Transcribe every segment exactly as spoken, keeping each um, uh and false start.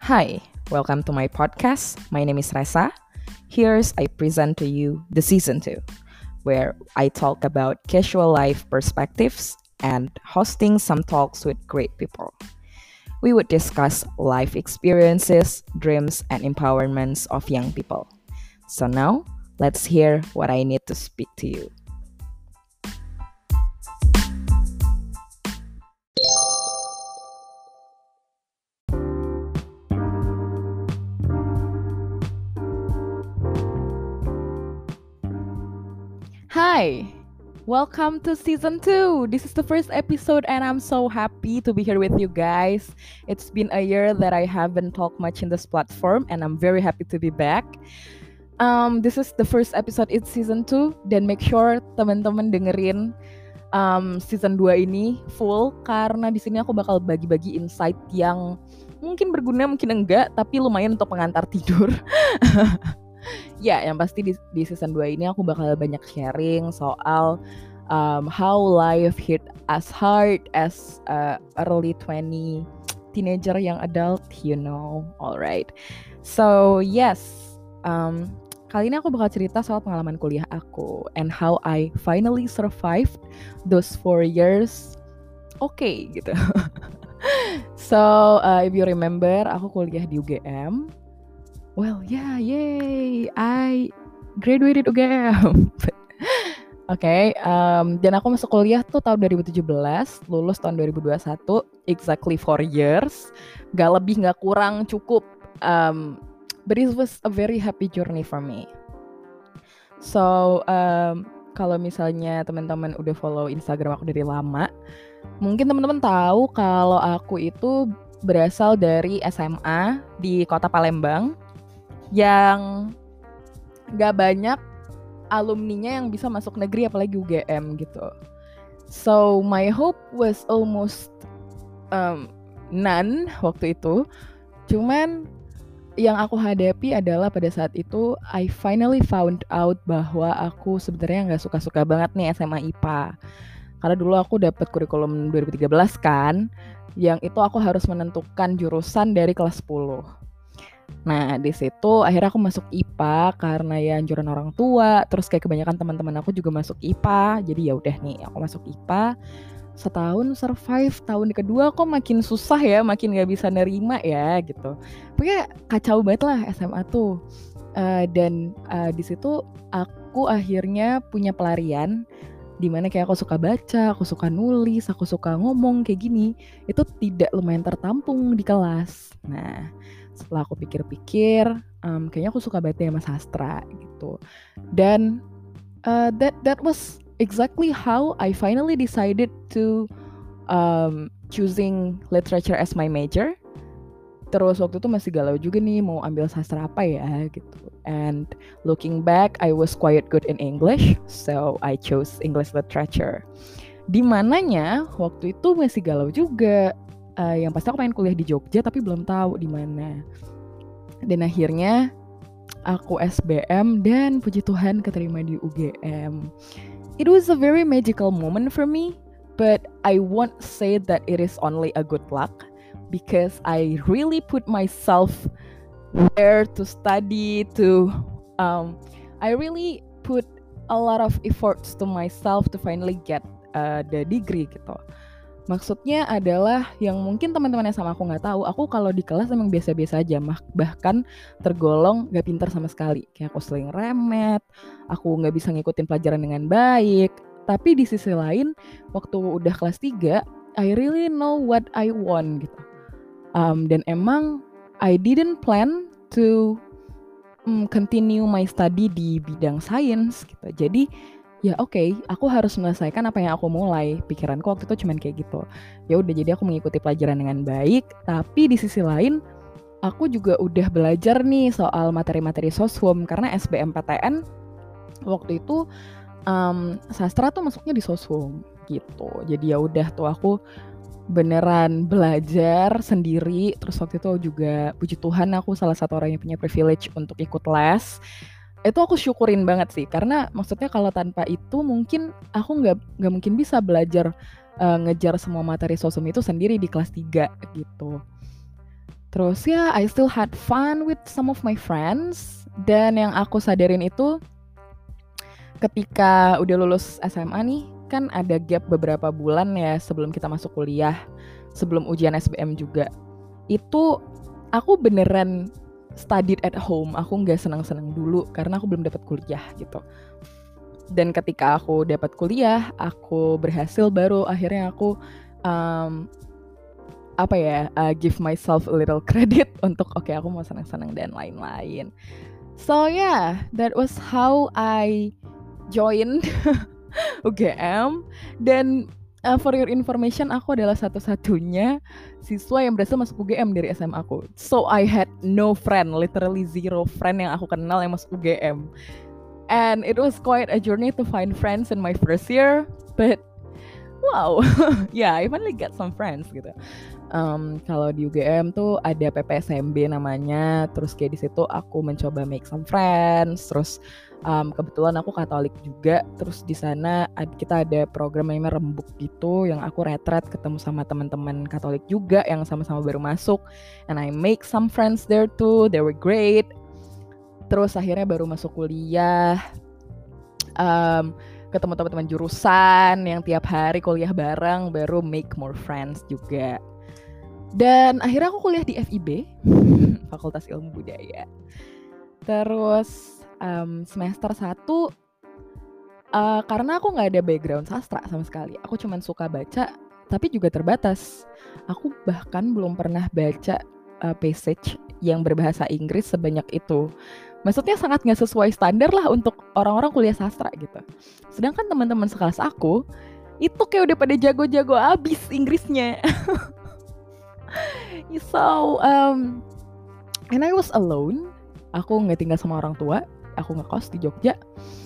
Hi, welcome to my podcast. My name is Resa. Here's I present to you the season two, where I talk about casual life perspectives and hosting some talks with great people. We would discuss life experiences, dreams, and empowerments of young people. So now, let's hear what I need to speak to you. Hi, welcome to season two. This is the first episode, and I'm so happy to be here with you guys. It's been a year that I haven't talked much in this platform, and I'm very happy to be back. Um, this is the first episode in season two, dan make sure teman-teman dengerin um, season dua ini full, karena di sini aku bakal bagi-bagi insight yang mungkin berguna, mungkin enggak, tapi lumayan untuk pengantar tidur. Ya, yang pasti di, di season dua ini aku bakal banyak sharing soal um, how life hit as hard as uh, early twenty teenager yang adult, you know. Alright. So, yes. Um, kali ini aku bakal cerita soal pengalaman kuliah aku and how I finally survived those four years. Oke, okay, gitu. So, uh, if you remember, aku kuliah di U G M. Well, yeah, yay, I graduated U G M. Oke, okay, um, dan aku masuk kuliah tuh tahun dua ribu tujuh belas, lulus tahun dua ribu dua puluh satu, exactly four years. Gak lebih, gak kurang, cukup. Um, but it was a very happy journey for me. So, um, kalau misalnya teman-teman udah follow Instagram aku dari lama, mungkin teman-teman tahu kalau aku itu berasal dari S M A di kota Palembang, yang gak banyak alumninya yang bisa masuk negeri, apalagi U G M gitu. So my hope was almost um, none waktu itu. Cuman yang aku hadapi adalah pada saat itu I finally found out bahwa aku sebenarnya gak suka-suka banget nih S M A I P A. Karena dulu aku dapat kurikulum dua ribu tiga belas kan, yang itu aku harus menentukan jurusan dari kelas sepuluh. Nah, di situ akhirnya aku masuk I P A karena ya anjuran orang tua, terus kayak kebanyakan teman-teman aku juga masuk I P A. Jadi ya udah nih, aku masuk I P A. Setahun survive, tahun kedua kok makin susah ya, makin gak bisa nerima ya gitu. Pokoknya kacau banget lah S M A tuh. Uh, dan uh, di situ aku akhirnya punya pelarian, dimana kayak aku suka baca, aku suka nulis, aku suka ngomong kayak gini. Itu tidak lumayan tertampung di kelas. Nah, setelah aku pikir-pikir, um, kayaknya aku suka banget sama sastra gitu. Dan uh, that that was exactly how I finally decided to um, choosing literature as my major. Terus waktu itu masih galau juga nih mau ambil sastra apa ya gitu. And looking back, I was quite good in English, so I chose English literature. Di mananya waktu itu masih galau juga. Uh, yang pasti aku pengen kuliah di Jogja tapi belum tahu di mana. Dan akhirnya aku S B M dan puji Tuhan keterima di U G M. It was a very magical moment for me, but I won't say that it is only a good luck because I really put myself there to study, to um, I really put a lot of efforts to myself to finally get uh, the degree gitu. Maksudnya adalah yang mungkin teman-teman yang sama aku nggak tahu, aku kalau di kelas emang biasa-biasa aja, bahkan tergolong nggak pintar sama sekali. Kayak aku sering remet, aku nggak bisa ngikutin pelajaran dengan baik. Tapi di sisi lain, waktu udah kelas tiga, I really know what I want gitu. Um, dan emang I didn't plan to um, continue my study di bidang sains gitu. Jadi ya oke, okay, aku harus menyelesaikan apa yang aku mulai. Pikiranku waktu itu cuman kayak gitu. Ya udah, jadi aku mengikuti pelajaran dengan baik, tapi di sisi lain aku juga udah belajar nih soal materi-materi soshum, karena S B M P T N waktu itu um, sastra tuh masuknya di soshum gitu. Jadi ya udah tuh aku beneran belajar sendiri. Terus waktu itu juga puji Tuhan aku salah satu orang yang punya privilege untuk ikut les. Itu aku syukurin banget sih, karena maksudnya kalau tanpa itu mungkin aku nggak nggak mungkin bisa belajar uh, ngejar semua materi sosum itu sendiri di kelas tiga gitu. Terus ya, I still had fun with some of my friends. Dan yang aku sadarin itu, ketika udah lulus S M A nih, kan ada gap beberapa bulan ya sebelum kita masuk kuliah, sebelum ujian S B M juga. Itu aku beneran studied at home, aku nggak senang-senang dulu karena aku belum dapat kuliah gitu. Dan ketika aku dapat kuliah, aku berhasil, baru akhirnya aku um, apa ya, uh, give myself a little credit untuk oke okay, aku mau senang-senang dan lain-lain. So yeah, that was how I joined U G M. Dan uh, for your information, aku adalah satu-satunya siswa yang berhasil masuk U G M dari S M A aku. So I had no friend, literally zero friend yang aku kenal yang masuk U G M. And it was quite a journey to find friends in my first year, but wow, yeah, I finally got some friends gitu. Um, kalau di U G M tuh ada P P S M B namanya, terus kayak di situ aku mencoba make some friends, terus um, kebetulan aku Katolik juga, terus di sana ad- kita ada program namanya Rembuk gitu, yang aku retret ketemu sama teman-teman Katolik juga yang sama-sama baru masuk, and I make some friends there too, they were great. Terus akhirnya baru masuk kuliah, um, ketemu teman-teman jurusan yang tiap hari kuliah bareng, baru make more friends juga. Dan akhirnya aku kuliah di F I B, Fakultas Ilmu Budaya. Terus um, semester satu, uh, karena aku gak ada background sastra sama sekali, aku cuma suka baca, tapi juga terbatas. Aku bahkan belum pernah baca uh, passage yang berbahasa Inggris sebanyak itu. Maksudnya sangat gak sesuai standar lah untuk orang-orang kuliah sastra gitu. Sedangkan teman-teman sekelas aku, itu kayak udah pada jago-jago abis Inggrisnya. So, um, and I was alone. Aku nggak tinggal sama orang tua. Aku ngekos di Jogja.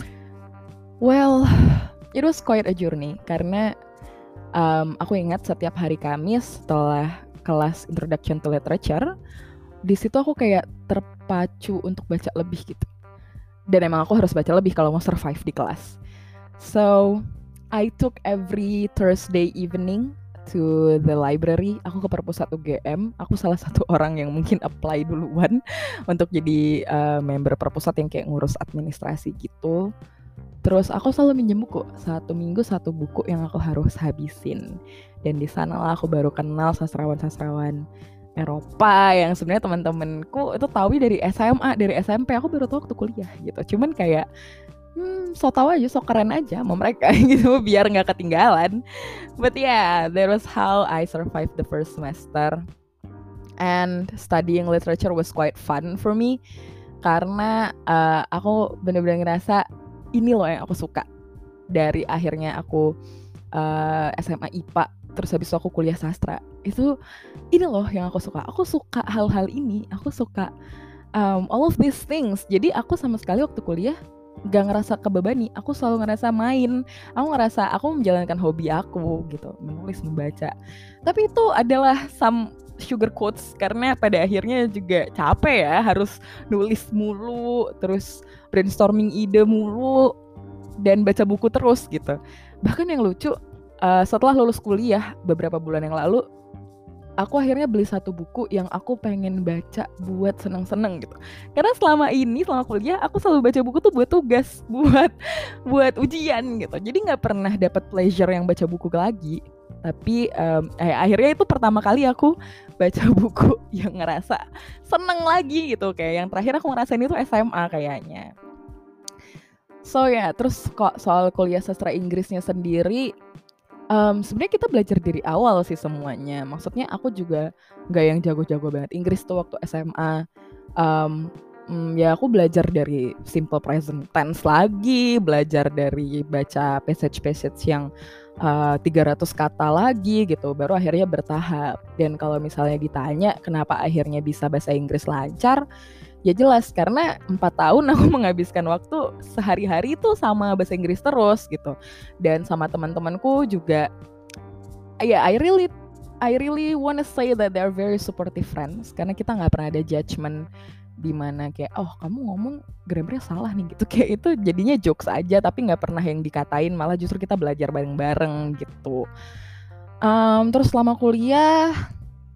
Well, it was quite a journey karena um, aku ingat setiap hari Kamis setelah kelas Introduction to Literature, di situ aku kayak terpacu untuk baca lebih gitu. Dan emang aku harus baca lebih kalau mau survive di kelas. So, I took every Thursday evening to the library. Aku ke perpusat U G M. Aku salah satu orang yang mungkin apply duluan untuk jadi uh, member perpusat yang kayak ngurus administrasi gitu. Terus aku selalu minjem buku, satu minggu satu buku yang aku harus habisin. Dan di sanalah aku baru kenal sastrawan-sastrawan Eropa yang sebenarnya teman-temanku itu tahu dari S M A, dari S M P. Aku baru tahu waktu kuliah gitu. Cuman kayak Hmm, so tau aja, so keren aja sama mereka gitu, biar nggak ketinggalan. But yeah, that was how I survived the first semester. And studying literature was quite fun for me karena uh, aku benar-benar ngerasa ini loh yang aku suka. Dari akhirnya aku uh, S M A I P A, terus habis itu aku kuliah sastra. Itu ini loh yang aku suka. Aku suka hal-hal ini. Aku suka um, all of these things. Jadi aku sama sekali waktu kuliah gak ngerasa kebebani, aku selalu ngerasa main, aku ngerasa aku menjalankan hobi aku gitu, menulis, membaca. Tapi itu adalah some sugar quotes karena pada akhirnya juga capek ya, harus nulis mulu, terus brainstorming ide mulu, dan baca buku terus gitu. Bahkan yang lucu, uh, setelah lulus kuliah beberapa bulan yang lalu, aku akhirnya beli satu buku yang aku pengen baca buat seneng-seneng gitu. Karena selama ini, selama kuliah, aku selalu baca buku tuh buat tugas, buat buat ujian gitu. Jadi nggak pernah dapat pleasure yang baca buku lagi. Tapi um, eh, akhirnya itu pertama kali aku baca buku yang ngerasa seneng lagi gitu. Kayak yang terakhir aku ngerasain itu S M A kayaknya. So ya, yeah, terus kok soal kuliah sastra Inggrisnya sendiri, Um, sebenarnya kita belajar dari awal sih semuanya. Maksudnya aku juga nggak yang jago-jago banget Inggris tuh waktu S M A. Um, mm, ya aku belajar dari simple present tense lagi, belajar dari baca passage-passage yang uh, tiga ratus kata lagi gitu. Baru akhirnya bertahap. Dan kalau misalnya ditanya kenapa akhirnya bisa bahasa Inggris lancar, ya jelas karena empat tahun aku menghabiskan waktu sehari-hari itu sama bahasa Inggris terus gitu, dan sama teman-temanku juga. Ya, yeah, I really, I really wanna say that they're very supportive friends karena kita nggak pernah ada judgement di mana kayak oh kamu ngomong grammarnya salah nih gitu, kayak itu jadinya jokes aja tapi nggak pernah yang dikatain, malah justru kita belajar bareng-bareng gitu. Um, terus selama kuliah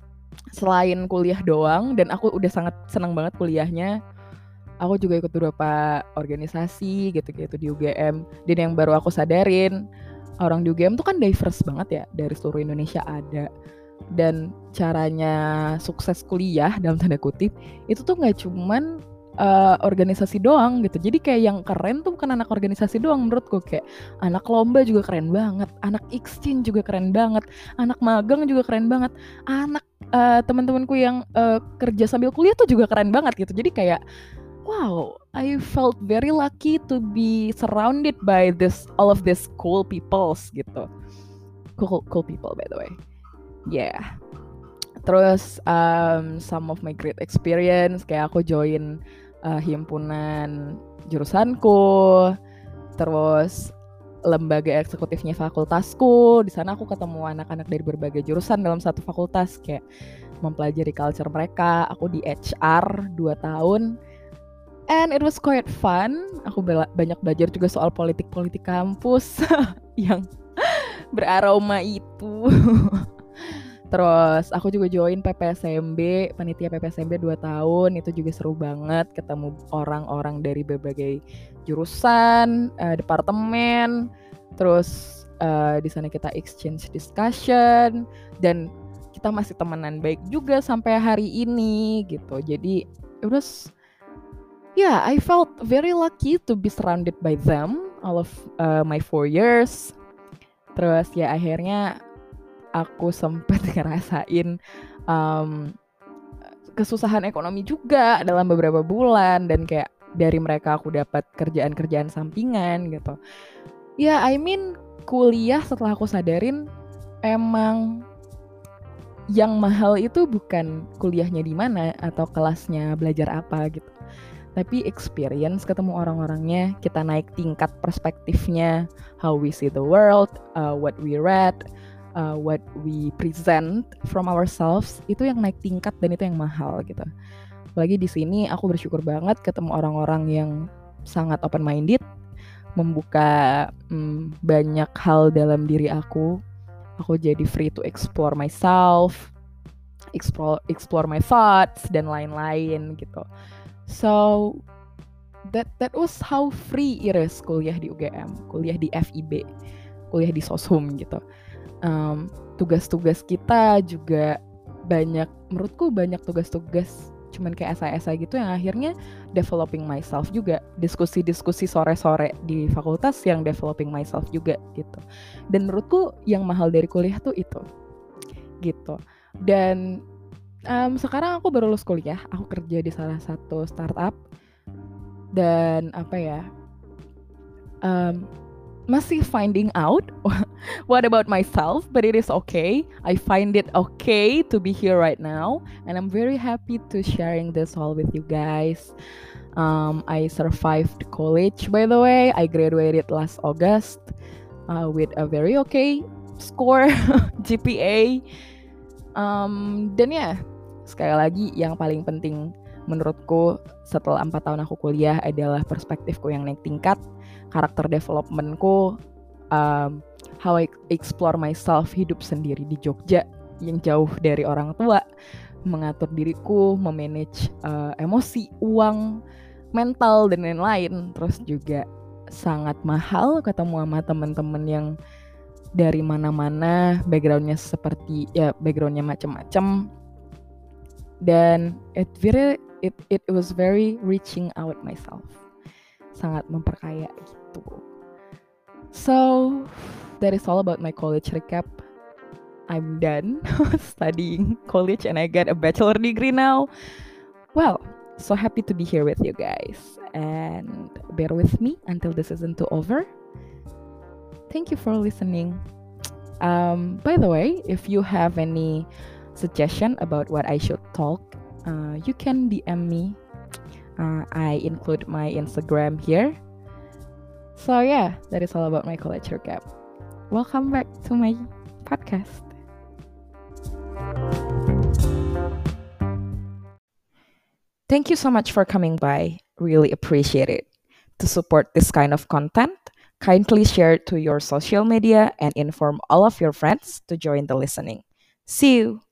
selain kuliah doang, dan aku udah sangat senang banget kuliahnya, aku juga ikut beberapa organisasi gitu-gitu di U G M. Dan yang baru aku sadarin, orang di U G M tuh kan diverse banget ya, dari seluruh Indonesia ada. Dan caranya sukses kuliah dalam tanda kutip itu tuh nggak cuman uh, organisasi doang gitu. Jadi kayak yang keren tuh bukan anak organisasi doang menurutku, kayak anak lomba juga keren banget, anak exchange juga keren banget, anak magang juga keren banget, anak uh, teman-temanku yang uh, kerja sambil kuliah tuh juga keren banget gitu. Jadi kayak wow, I felt very lucky to be surrounded by this all of these cool peoples gitu. Cool cool people by the way. Yeah. Terus um, some of my great experience kayak aku join uh, himpunan jurusanku, terus lembaga eksekutifnya fakultasku. Di sana aku ketemu anak-anak dari berbagai jurusan dalam satu fakultas, kayak mempelajari culture mereka. Aku di H R dua tahun. And it was quite fun. Aku bela- banyak belajar juga soal politik-politik kampus yang beraroma itu. Terus aku juga join P P S M B, panitia P P S M B dua tahun. Itu juga seru banget, ketemu orang-orang dari berbagai jurusan, uh, departemen. Terus uh, di sana kita exchange discussion, dan kita masih temenan baik juga sampai hari ini gitu. Jadi it was, yeah, I felt very lucky to be surrounded by them all of uh, my four years. Terus ya akhirnya aku sempat ngerasain um, kesusahan ekonomi juga dalam beberapa bulan, dan kayak dari mereka aku dapat kerjaan-kerjaan sampingan gitu. Ya, I mean kuliah setelah aku sadarin emang yang mahal itu bukan kuliahnya di mana atau kelasnya belajar apa gitu, tapi experience, ketemu orang-orangnya, kita naik tingkat perspektifnya, how we see the world, uh, what we read, Uh, what we present from ourselves, itu yang naik tingkat dan itu yang mahal gitu. Apalagi di sini aku bersyukur banget ketemu orang-orang yang sangat open minded, membuka hmm, banyak hal dalam diri aku. Aku jadi free to explore myself, explore explore my thoughts dan lain-lain gitu. So that that was how free it is kuliah di U G M, kuliah di F I B, kuliah di Soshum gitu. Um, tugas-tugas kita juga banyak, menurutku banyak tugas-tugas cuman kayak esai-esai gitu yang akhirnya developing myself juga, diskusi-diskusi sore-sore di fakultas yang developing myself juga gitu. Dan menurutku yang mahal dari kuliah tuh itu gitu. Dan um, sekarang aku baru lulus kuliah, aku kerja di salah satu startup, dan apa ya, um, masih finding out what about myself, but it is okay. I find it okay to be here right now, and I'm very happy to sharing this all with you guys. Um, I survived college, by the way. I graduated last August uh, with a very okay score G P A. Um, dan ya, sekali lagi yang paling penting menurutku setelah empat tahun aku kuliah adalah perspektifku yang naik tingkat, karakter developmentku, um, how I explore myself, hidup sendiri di Jogja yang jauh dari orang tua, mengatur diriku, memanage uh, emosi, uang, mental, dan lain-lain. Terus juga sangat mahal ketemu sama teman-teman yang dari mana-mana, backgroundnya seperti ya backgroundnya macam-macam, dan it very it it was very reaching out myself, sangat memperkaya gitu. So that is all about my college recap. I'm done studying college and I got a bachelor degree now. Well, so happy to be here with you guys, and bear with me until this season two over. Thank you for listening. Um, by the way, if you have any suggestion about what I should talk, uh, you can D M me. Uh, I include my Instagram here. So yeah, that is all about my college recap. Welcome back to my podcast. Thank you so much for coming by. Really appreciate it. To support this kind of content, kindly share it to your social media and inform all of your friends to join the listening. See you.